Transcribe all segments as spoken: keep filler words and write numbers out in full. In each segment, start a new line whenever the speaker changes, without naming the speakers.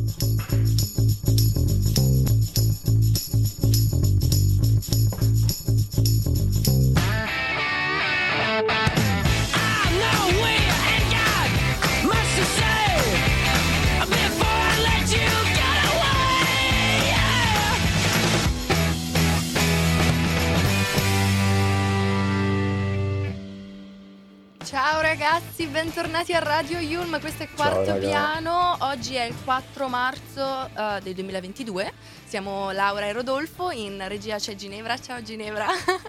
Ciao ragazzi, bentornati a Radio Yulm, questo è Quarto
Ciao,
Piano. Oggi è il quattro marzo uh, del duemilaventidue. Siamo Laura e Rodolfo, in regia c'è Ginevra. Ciao Ginevra.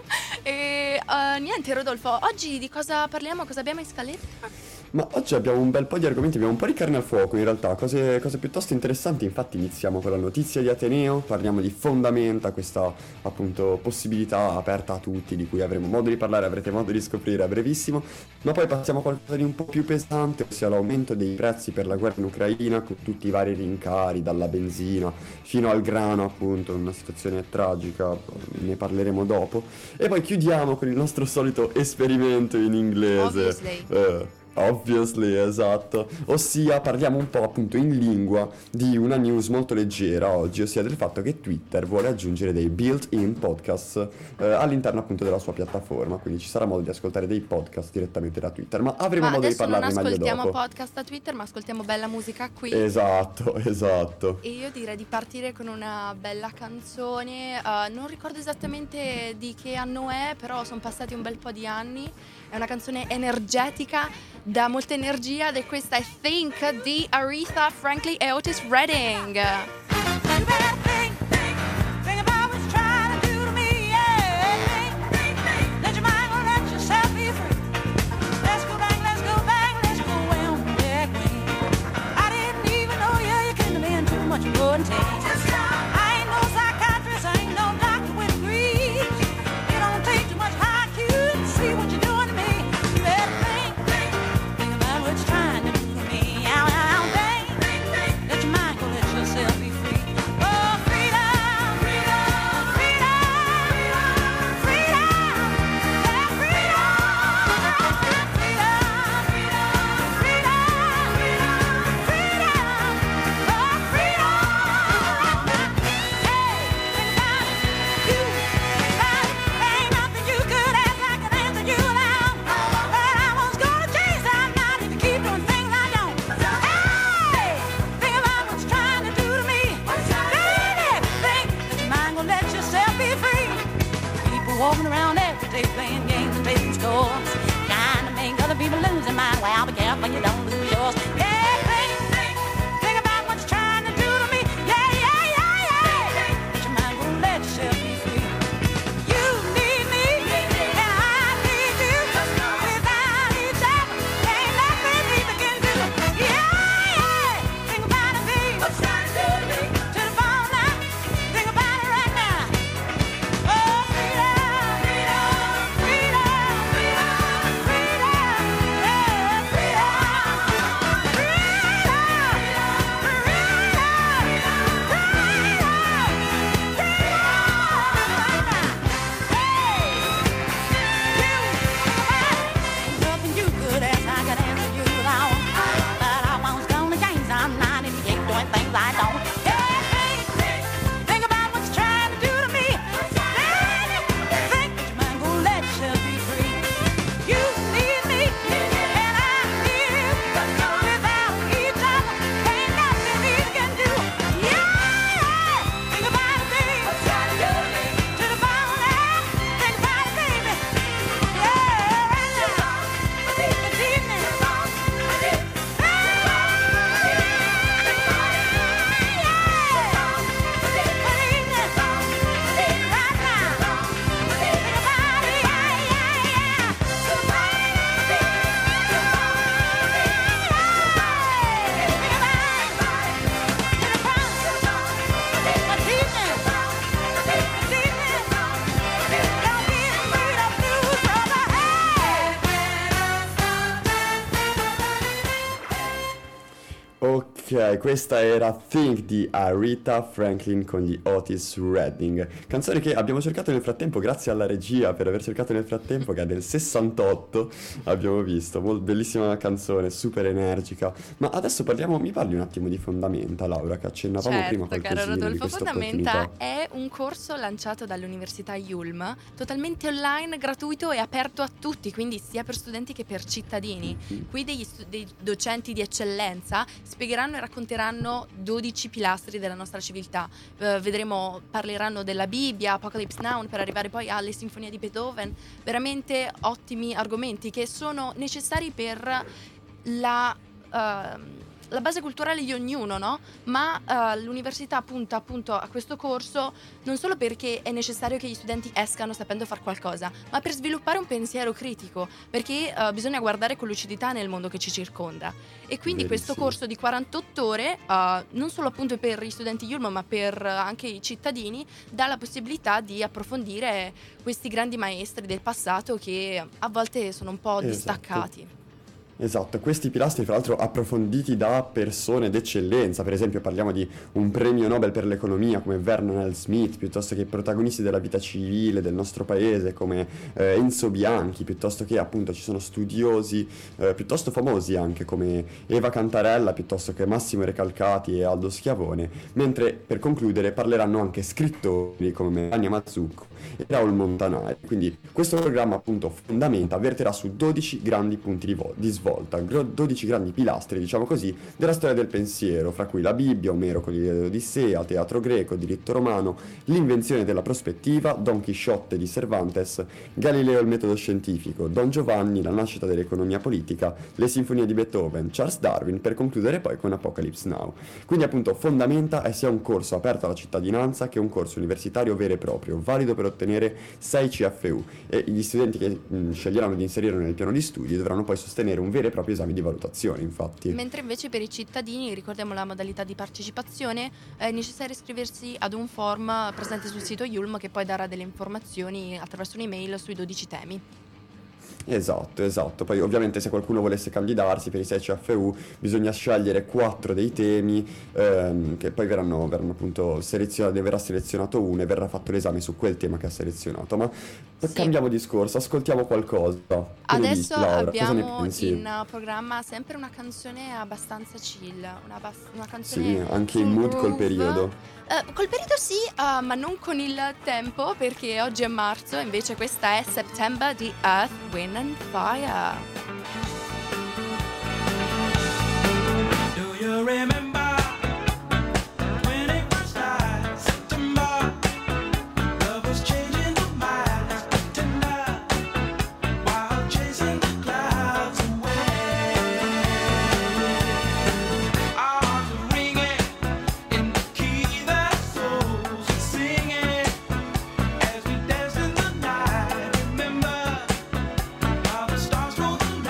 E uh, niente Rodolfo, oggi di cosa parliamo? Cosa abbiamo in scaletta?
Ma oggi abbiamo un bel po' di argomenti, abbiamo un po' di carne al fuoco in realtà, cose, cose piuttosto interessanti. Infatti iniziamo con la notizia di Ateneo, parliamo di fondamenta, questa appunto possibilità aperta a tutti, di cui avremo modo di parlare, avrete modo di scoprire a brevissimo. Ma poi passiamo a qualcosa di un po' più pesante, ossia l'aumento dei prezzi per la guerra in Ucraina, con tutti i vari rincari, dalla benzina fino al grano, appunto, una situazione tragica, ne parleremo dopo. E poi chiudiamo con il nostro solito esperimento in inglese.
Obviously.
Eh, Obviously, esatto. Ossia parliamo un po' appunto in lingua di una news molto leggera oggi, ossia del fatto che Twitter vuole aggiungere dei built-in podcast eh, all'interno appunto della sua piattaforma, quindi ci sarà modo di ascoltare dei podcast direttamente da Twitter, ma avremo
Ma
modo di
adesso non
parlarne meglio
ascoltiamo
dopo.
podcast da Twitter, ma ascoltiamo bella musica qui.
Esatto, esatto.
E io direi di partire con una bella canzone, uh, non ricordo esattamente di che anno è, però sono passati un bel po' di anni. È una canzone energetica, dà molta energia, ed è questa è Think di Aretha Franklin e Otis Redding.
Trying to do to me, ow, ow, baby. Let your mind go, let yourself be free.
Ok, questa era Think di Aretha Franklin con gli Otis Redding, canzone che abbiamo cercato nel frattempo, grazie alla regia per aver cercato nel frattempo, che è del sessantotto, abbiamo visto, Mol- bellissima canzone, super energica. Ma adesso parliamo, mi parli un attimo di Fondamenta, Laura, che accennavamo prima
Certo, caro
qualcosina di
Rodolfo,
questa
Fondamenta
opportunità.
è un corso lanciato dall'Università Yulm, totalmente online, gratuito e aperto a tutti, quindi sia per studenti che per cittadini.
Mhm.
Qui degli stu- dei docenti di eccellenza spiegheranno e racconteranno dodici pilastri della nostra civiltà. Eh, vedremo, parleranno della Bibbia, Apocalypse Now, per arrivare poi alle sinfonie di Beethoven. Veramente ottimi argomenti che sono necessari per la, ehm, la base culturale di ognuno, no? Ma eh, l'università punta appunto a questo corso non solo perché è necessario che gli studenti escano sapendo far qualcosa, ma per sviluppare un pensiero critico, perché eh, bisogna guardare con lucidità nel mondo che ci circonda. E quindi questo
Verissimo.
corso di quarantotto ore, eh, non solo appunto per gli studenti Yulm, ma per eh, anche i cittadini, dà la possibilità di approfondire questi grandi maestri del passato che a volte sono un po'
Esatto.
distaccati.
Esatto, questi pilastri fra l'altro approfonditi da persone d'eccellenza, per esempio parliamo di un premio Nobel per l'economia come Vernon L. Smith, piuttosto che protagonisti della vita civile del nostro paese come eh, Enzo Bianchi, piuttosto che appunto ci sono studiosi eh, piuttosto famosi anche come Eva Cantarella, piuttosto che Massimo Recalcati e Aldo Schiavone, mentre per concludere parleranno anche scrittori come Melania Mazzucco e Raul Montanari. Quindi questo programma appunto Fondamenta verterà su dodici grandi punti di, vo- di svolta, gro- dodici grandi pilastri, diciamo così, della storia del pensiero, fra cui la Bibbia, Omero con l'Odissea, teatro greco, diritto romano, l'invenzione della prospettiva, Don Chisciotte di Cervantes, Galileo il metodo scientifico, Don Giovanni, la nascita dell'economia politica, le sinfonie di Beethoven, Charles Darwin, per concludere poi con Apocalypse Now. Quindi appunto Fondamenta è sia un corso aperto alla cittadinanza che un corso universitario vero e proprio, valido per ottenere sei C F U, e gli studenti che mh, sceglieranno di inserirlo nel piano di studi dovranno poi sostenere un vero e proprio esame di valutazione, infatti.
Mentre invece per i cittadini, ricordiamo la modalità di partecipazione, è necessario iscriversi ad un form presente sul sito Yulm che poi darà delle informazioni attraverso un'email sui dodici temi.
Esatto, esatto. Poi ovviamente se qualcuno volesse candidarsi per i sei C F U bisogna scegliere quattro dei temi ehm, che poi verranno, verranno appunto selezionati, verrà selezionato uno e verrà fatto l'esame su quel tema che ha selezionato. Ma
Sì.
cambiamo discorso, ascoltiamo qualcosa. Che ne
Adesso
dici, Laura? Cosa ne
abbiamo
pensi?
in uh, programma sempre una canzone abbastanza chill, una, bas- una canzone
Sì, anche in
sul
mood col
groove.
periodo.
Eh, col periodo sì, uh, ma non con il tempo, perché oggi è marzo, invece questa è September di Earth, Wind and Fire.
Do you remember when it was started? September, love was changing the minds, tender, while chasing the clouds away. Our hearts were ringing in the key that souls were singing as we danced in the night. Remember how the stars told the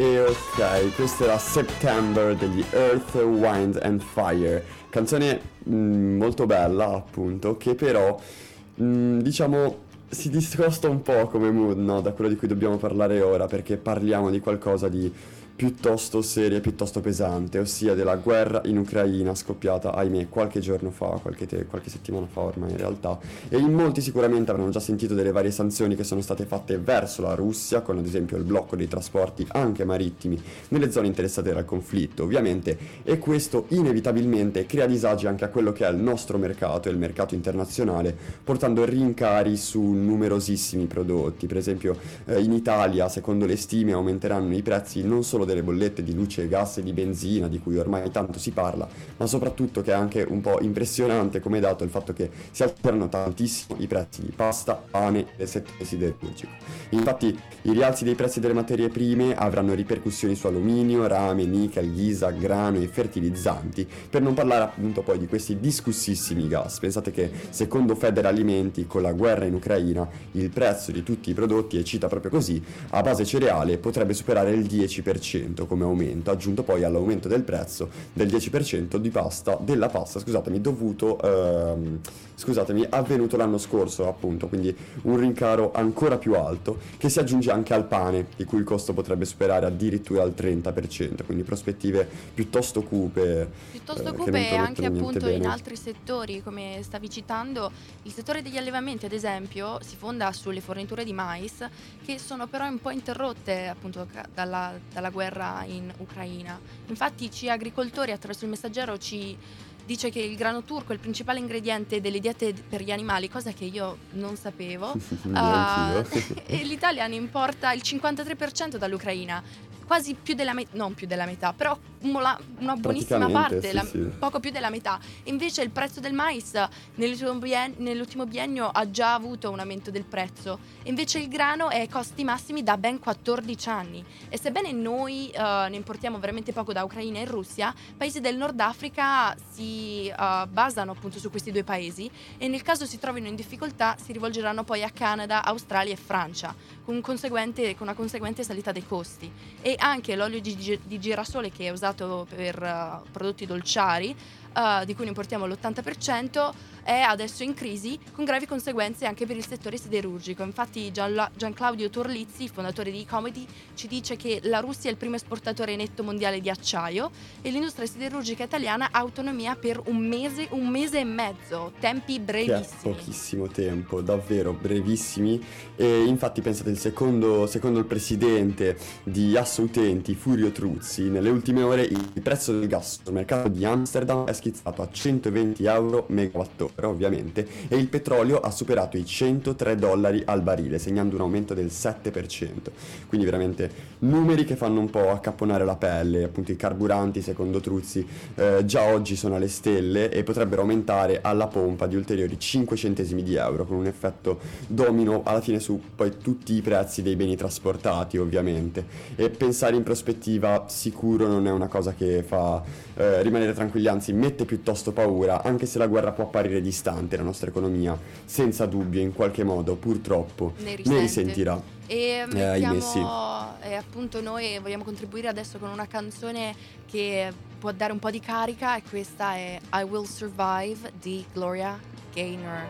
E ok, questa era September degli Earth, Wind and Fire, canzone mh, molto bella appunto, che però mh, diciamo si discosta un po' come mood, no, da quello di cui dobbiamo parlare ora, perché parliamo di qualcosa di piuttosto seria e piuttosto pesante, ossia della guerra in Ucraina scoppiata, ahimè, qualche giorno fa, qualche, te- qualche settimana fa ormai in realtà, e in molti sicuramente avranno già sentito delle varie sanzioni che sono state fatte verso la Russia, con ad esempio il blocco dei trasporti anche marittimi nelle zone interessate dal conflitto, ovviamente, e questo inevitabilmente crea disagi anche a quello che è il nostro mercato e il mercato internazionale, portando rincari su numerosissimi prodotti. Per esempio eh, in Italia, secondo le stime, aumenteranno i prezzi non solo delle bollette di luce, gas e di benzina, di cui ormai tanto si parla, ma soprattutto, che è anche un po' impressionante come dato, il fatto che si alterano tantissimo i prezzi di pasta, pane e del settore siderurgico. Infatti i rialzi dei prezzi delle materie prime avranno ripercussioni su alluminio, rame, nichel, ghisa, grano e fertilizzanti, per non parlare appunto poi di questi discussissimi gas. Pensate che secondo Federalimenti, con la guerra in Ucraina, il prezzo di tutti i prodotti, e cita proprio così, a base cereale potrebbe superare il dieci per cento come aumento, aggiunto poi all'aumento del prezzo del dieci per cento di pasta, della pasta, scusatemi, dovuto, ehm, scusatemi, avvenuto l'anno scorso appunto, quindi un rincaro ancora più alto, che si aggiunge anche al pane, di cui il costo potrebbe superare addirittura il trenta per cento, quindi prospettive piuttosto cupe.
Piuttosto
eh, che
cupe
non
e
promettono
anche
niente
appunto in
bene.
altri settori, come stavi citando, il settore degli allevamenti ad esempio si fonda sulle forniture di mais, che sono però un po' interrotte appunto ca- dalla, dalla guerra in Ucraina. Infatti ci agricoltori attraverso il messaggero ci dice che il grano turco è il principale ingrediente delle diete per gli animali, cosa che io non sapevo.
Neanch'io.
Uh, e l'Italia ne importa il cinquantatré per cento dall'Ucraina, quasi più della metà, non più della metà, però una, una buonissima
Praticamente,
parte,
sì,
la-
sì.
poco più della metà. Invece il prezzo del mais nell'ultimo, bien- nell'ultimo biennio ha già avuto un aumento del prezzo, e invece il grano è ai costi massimi da ben quattordici anni. E sebbene noi eh, ne importiamo veramente poco da Ucraina e Russia, paesi del Nord Africa si eh, basano appunto su questi due paesi, e nel caso si trovino in difficoltà si rivolgeranno poi a Canada, Australia e Francia, con, un conseguente, con una conseguente salita dei costi. E anche l'olio di, gi- di girasole, che è usato per uh, prodotti dolciari, uh, di cui ne importiamo l'ottanta per cento, è adesso in crisi, con gravi conseguenze anche per il settore siderurgico. Infatti Gian- Gianclaudio Torlizzi, fondatore di Ecomedy, ci dice che la Russia è il primo esportatore netto mondiale di acciaio, e l'industria siderurgica italiana ha autonomia per un mese, un mese e mezzo, tempi
Che è
brevissimi.
pochissimo tempo, davvero brevissimi. E infatti pensate, il secondo, secondo il presidente di Assoutenti, Furio Truzzi, nelle ultime ore il prezzo del gas sul mercato di Amsterdam è schizzato a centoventi euro megawattora, ovviamente, e il petrolio ha superato i centotré dollari al barile, segnando un aumento del sette per cento. Quindi veramente numeri che fanno un po' accapponare la pelle. Appunto i carburanti, secondo Truzzi, eh, già oggi sono alle stelle e potrebbero aumentare alla pompa di ulteriori cinque centesimi di euro, con un effetto domino alla fine su poi tutti i prezzi dei beni trasportati, ovviamente. E pensare in prospettiva sicuro non è una cosa che fa eh, rimanere tranquilli, anzi mette piuttosto paura, anche se la guerra può apparire distante. La nostra economia senza dubbio in qualche modo purtroppo
Ne
ne
risente.
risentirà.
E
Eh, ahimè,
mettiamo, e appunto noi vogliamo contribuire adesso con una canzone che può dare un po' di carica, e questa è I Will Survive di Gloria Gaynor.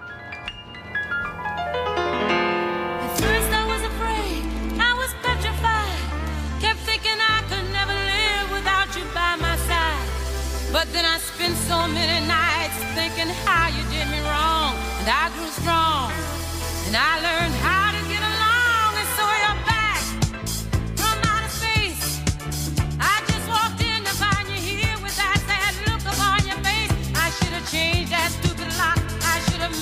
At first I was afraid, I was petrified. Kept thinking I could never live without you by my side. But then I spent so many nights thinking how you did me wrong. And I grew strong, and I learned how to get along. And so you're back from outer space. I just walked in to find you here with that sad look upon your face. I should have changed that stupid lock, I should have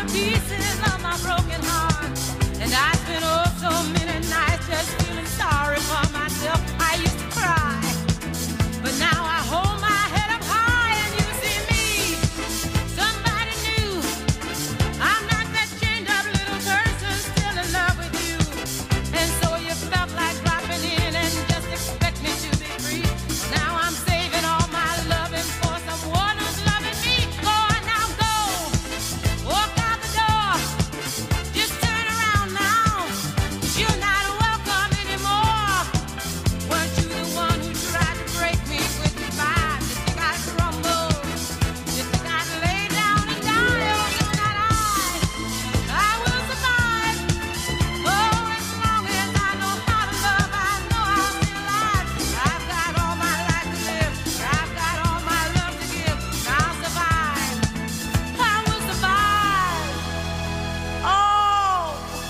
pieces of my broken heart. And I spent oh so many nights just feeling sorry for myself. I used to cry, but now I hold my head up high and you see me. Somebody new. I'm not that chained up little person still in love with you. And so you felt like dropping in and just expect me to be free. Now I'm saving all my loving for someone who's loving me. Go on now, go. Walk out the door. Just turn around now. You're not welcome anymore. Weren't you the one who tried to break me with goodbye? You think I'd crumble? You think I'd lay down and die? Oh, no, not I. I will survive. Oh, as long as I know how to love, I know I'll be alive. I've got all my life to live. I've got all my love to give. I'll survive. I will survive. Oh.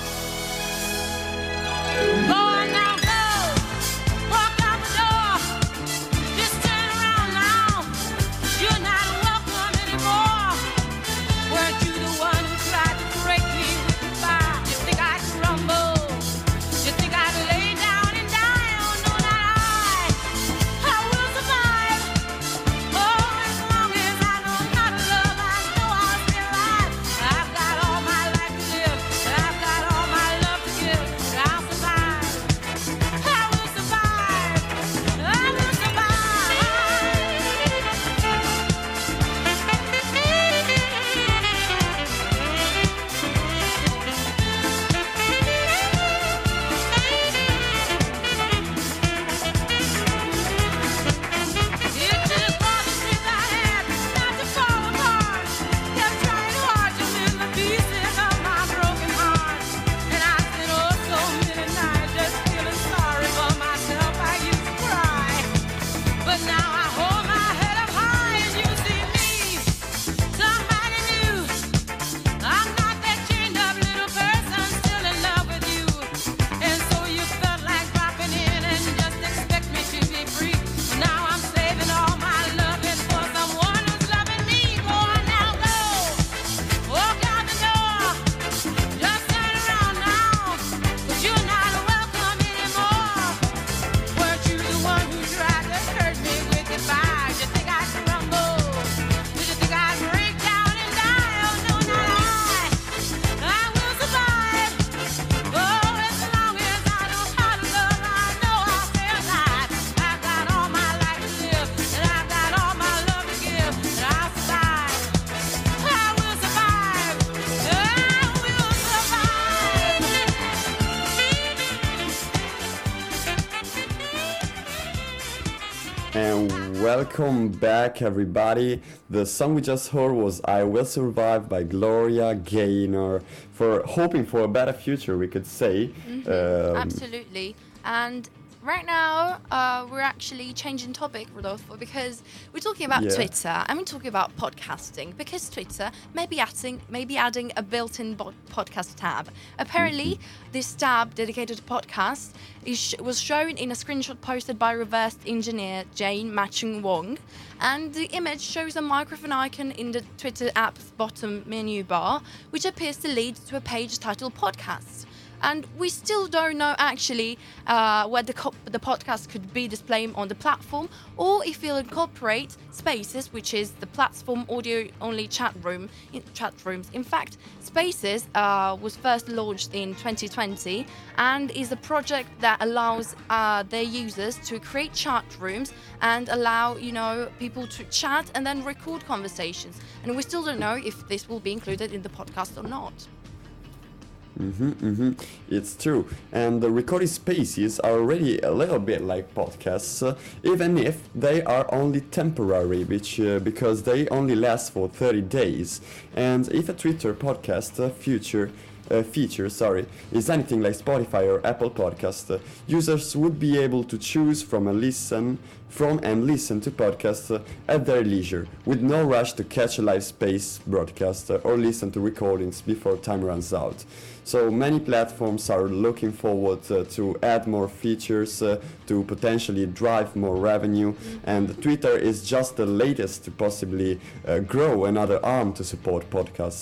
Go on now, go. Walk out the door. Just turn around now. You're not welcome anymore. Weren't you the one who tried to break me with goodbye? You think I'd crumble? You think I'd lay down and die? Oh, no, not I. I will survive. Oh, as long as I know how to love, I know I'll be alive. I've got all my life to live. I've got all my love to give. I'll survive. I will survive. I will It took all the strength I had not to fall apart. Kept trying hard to mend the pieces of my broken heart. And I spent oh so many nights just feeling sorry for myself. I used to cry, but now I hold my head up high and you see me. Somebody new. I'm not that chained up little person still in love with you. And so you felt like dropping in and just expect me to be free. Now I'm saving all my loving for someone who's loving me. Go on now, go. Walk out the door. Just turn around now. 'Cause you're not welcome anymore. Weren't you the one who tried to hurt me with goodbye? Did you think I'd crumble? Did you think I'd break down and die? Oh, no, not I. I will survive. Oh, as long as I know how to love, I know I'll stay alive. I've got all my life to live, and I've got all my love to give, and I'll survive. I will survive. I will survive.
And welcome back, everybody. The song we just heard was I Will Survive by Gloria Gaynor. For hoping for a better future, we could say. Um,
Absolutely. And right now, uh, we're actually changing topic, Rodolfo, because we're talking about
Yeah.
Twitter and we're talking about podcasting. Because Twitter may be adding, maybe adding a built-in bo- podcast tab. Apparently, this tab dedicated to podcasts is sh- was shown in a screenshot posted by reverse engineer Jane Matchung Wong. And the image shows a microphone icon in the Twitter app's bottom menu bar, which appears to lead to a page titled Podcasts. And we still don't know actually uh, whether co- the podcast could be displayed on the platform or if it'll incorporate Spaces, which is the platform audio-only chat room in chat rooms. In fact, Spaces uh, was first launched in twenty twenty and is a project that allows uh, their users to create chat rooms and allow you know people to chat and then record conversations. And we still don't know if this will be included in the podcast or not.
Mm-hmm, mm-hmm. It's true. And the recorded spaces are already a little bit like podcasts, uh, even if they are only temporary, which uh, because they only last for thirty days. And if a Twitter podcast uh, future uh, feature, sorry, is anything like Spotify or Apple Podcast, uh, users would be able to choose from a listen from and listen to podcasts uh, at their leisure, with no rush to catch a live space broadcast uh, or listen to recordings before time runs out. So many platforms are looking forward uh, to add more features uh, to potentially drive more revenue, and Twitter is just the latest to possibly uh, grow another arm to support podcasts.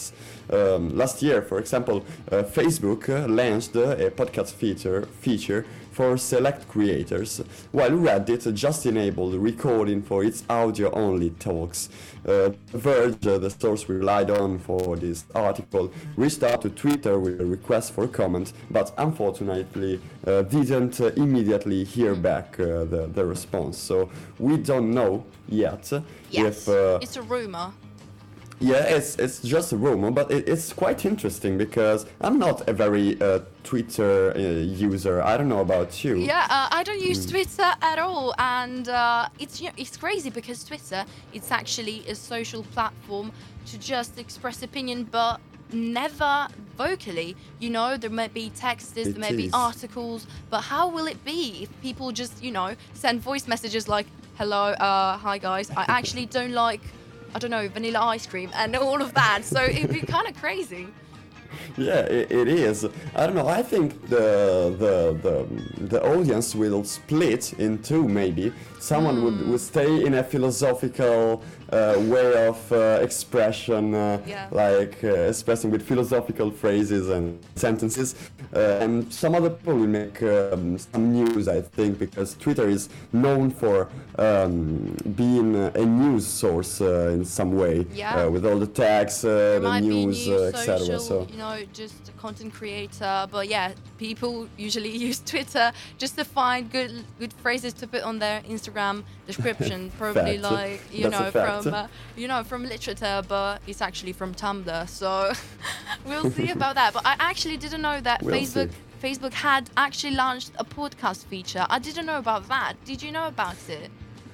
um, last year, for example, uh, Facebook uh, launched uh, a podcast feature feature for select creators, while Reddit just enabled recording for its audio-only talks. Uh, Verge, uh, the source we relied on for this article, reached out to Twitter with a request for comment, but unfortunately uh, didn't uh, immediately hear back uh, the, the response. So we don't know yet
Yes,
if... Uh,
it's a rumor.
yeah, it's it's just a rumor, but it, it's quite interesting because I'm not a very uh, Twitter uh, user. I don't know about you.
Yeah, uh, I don't use Twitter at all, and uh, it's you know, it's crazy because Twitter, it's actually a social platform to just express opinion, but never vocally. You know, there may be texts,
It
there may be
is.
articles, but how will it be if people just, you know, send voice messages like, hello, uh, hi guys, I actually don't like, I don't know, vanilla ice cream and all of that, so it'd be kind of crazy.
Yeah, it, it is. I don't know. I think the the the the audience will split in two. Maybe someone would, would stay in a philosophical uh, way of uh, expression, uh,
Yeah.
like uh, expressing with philosophical phrases and sentences, uh, and some other people will make um, some news. I think because Twitter is known for um, being a news source uh, in some way,
Yeah.
uh, with all the tags, uh,
There
the
might
news,
be new
uh, et cetera.
social,
So.
you know, just a content creator, but yeah, people usually use Twitter just to find good good phrases to put on their Instagram description. Probably
Fact.
like you
That's a
know
fact.
from uh, you know from literature, but it's actually from Tumblr. So we'll see about that. But I actually didn't know that
We'll
Facebook
see.
Facebook had actually launched a podcast feature. I didn't know about that. Did you know about it?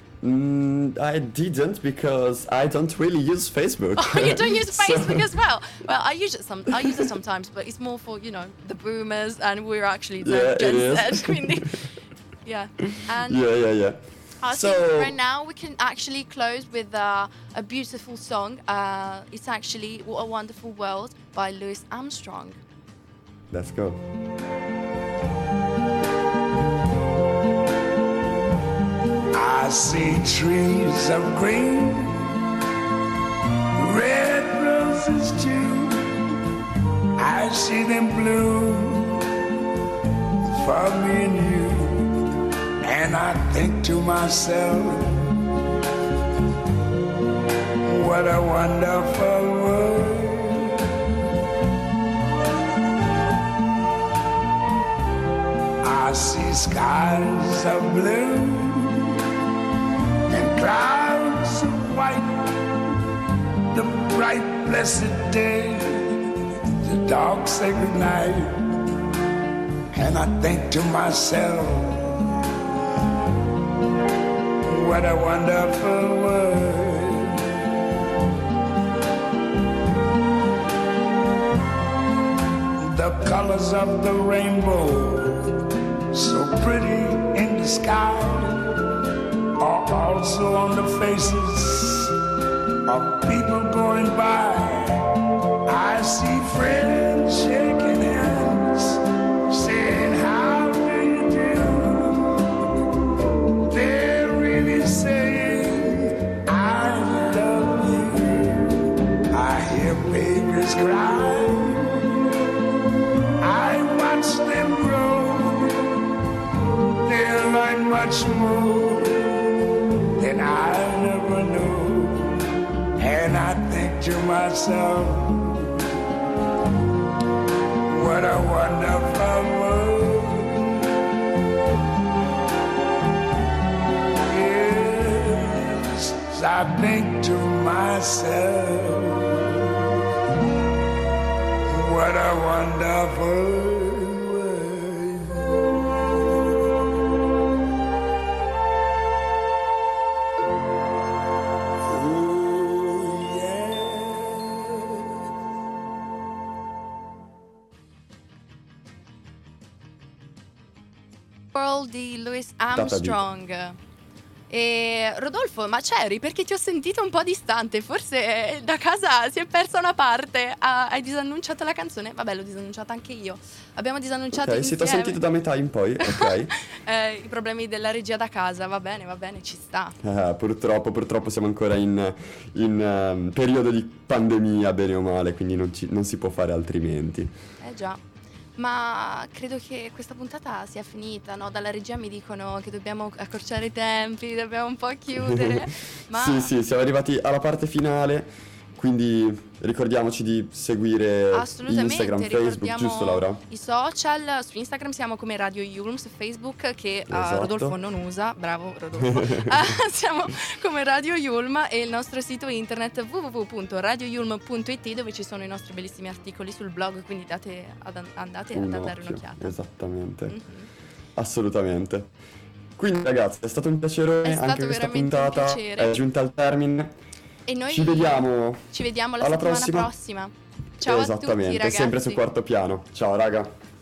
Mm, I didn't because I don't really use Facebook.
Oh, you don't use
So-
Facebook as well. Well, I use it some. I use it sometimes, but it's more for you know the boomers, and we're actually the
Yeah, it
Gen
is.
Z. Quindi, yeah, and
Yeah, yeah, yeah.
I
So
think right now we can actually close with uh, a beautiful song. Uh, it's actually "What a Wonderful World" by Louis Armstrong.
let's go.
I see trees of green, red roses too. I see them bloom for me and you. And I think to myself, what a wonderful world. I see skies of blue and clouds of white, the bright blessed day, the dark sacred night. And I think to myself, what a wonderful world. The colors of the rainbow, so pretty in the sky, are also on the faces of people going by. I see friends shaking hands, saying, how do you do? They're really saying, I love you. I hear babies cry. I watch them grow. They'll learn much more than I never knew. And I think to myself, what a wonderful world. Yes, I think to myself, what a wonderful world. Oh, yeah.
World di Louis Armstrong. E Rodolfo, ma c'eri? Perché ti ho sentito un po' distante, forse da casa si è persa una parte. Ah, hai disannunciato la canzone? Vabbè, l'ho disannunciata anche io. Abbiamo disannunciato
Ok, sì, ti ho
insieme.
sentito da metà in poi, ok.
Eh, i problemi della regia da casa, va bene, va bene, ci sta.
Eh, purtroppo, purtroppo siamo ancora in, in ehm, periodo di pandemia, bene o male, quindi non, ci- non si può fare altrimenti.
Eh già. Ma credo che questa puntata sia finita, no? Dalla regia mi dicono che dobbiamo accorciare i tempi, dobbiamo un po' chiudere. Ma
Sì, sì, siamo arrivati alla parte finale, quindi ricordiamoci di seguire
assolutamente,
Instagram, Facebook,
ricordiamo
giusto Laura?
i social. Su Instagram siamo come Radio Yulm, su Facebook che eh,
Esatto.
Rodolfo non usa, bravo Rodolfo. Ah, siamo come Radio Yulm e il nostro sito internet w w w punto radio yulm punto i t dove ci sono i nostri bellissimi articoli sul blog, quindi date ad, andate
Un
a dare
occhio,
un'occhiata.
esattamente,
Mhm.
assolutamente. Quindi ragazzi, è stato un piacere,
È stato
anche questa
veramente un
puntata
piacere.
è giunta al termine.
E noi
Ci vediamo
ci vediamo la
alla
settimana
prossima.
prossima. Ciao a tutti
Esattamente,
ragazzi.
sempre su Quarto Piano. Ciao raga.